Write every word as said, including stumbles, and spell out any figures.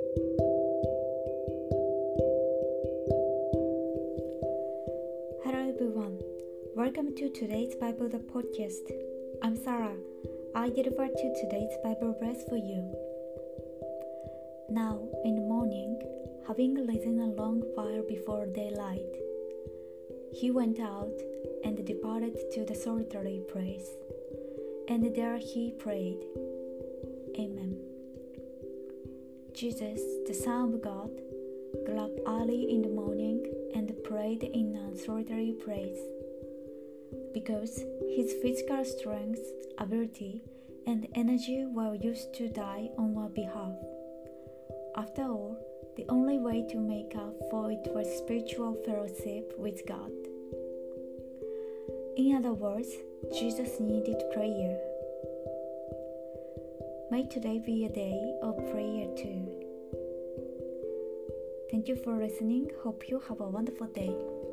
Hello everyone, welcome to today's Bible the podcast. I'm Sarah. I deliver to today's Bible verse for you. Now in the morning, having risen a long while before daylight, he went out and departed to the solitary place, and there he prayed. Amen. Jesus, the Son of God, got up early in the morning and prayed in a solitary place, because his physical strength, ability, and energy were used to die on our behalf. After all, the only way to make up for it was spiritual fellowship with God. In other words, Jesus needed prayer. May today be a day of prayer too. Thank you for listening. Hope you have a wonderful day.